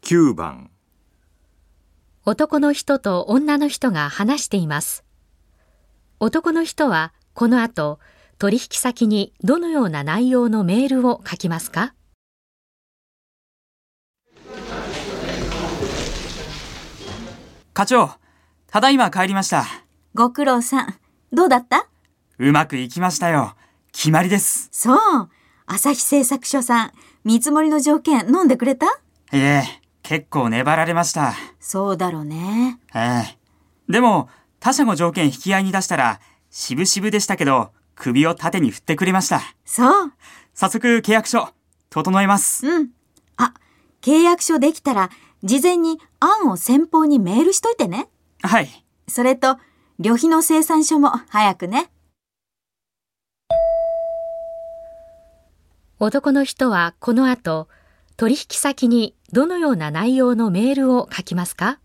9番。 男の人と女の人が話しています。男の人はこの後、取引先にどのような内容のメールを書きますか？ 課長、ただいま帰りました。 ご苦労さん。どうだった？ うまくいきましたよ。決まりです。 そう。朝日製作所さん、見積もりの条件飲んでくれた？ 結構粘られました。 そうだろうね。 でも、他社の条件引き合いに出したら、渋々でしたけど、首を縦に振ってくれました。 そう。 早速契約書、整えます。 うん。契約書できたら、事前に案を先方にメールしといてね。 はい。 それと、旅費の精算書も早くね。 男の人はこの後、取引先にどのような内容のメールを書きますか？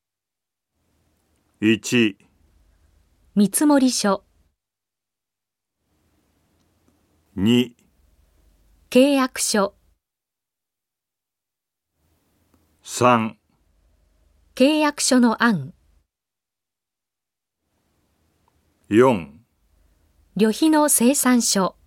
1、 見積書、 2、 契約書、 3、 契約書の案、 4、 旅費の精算書。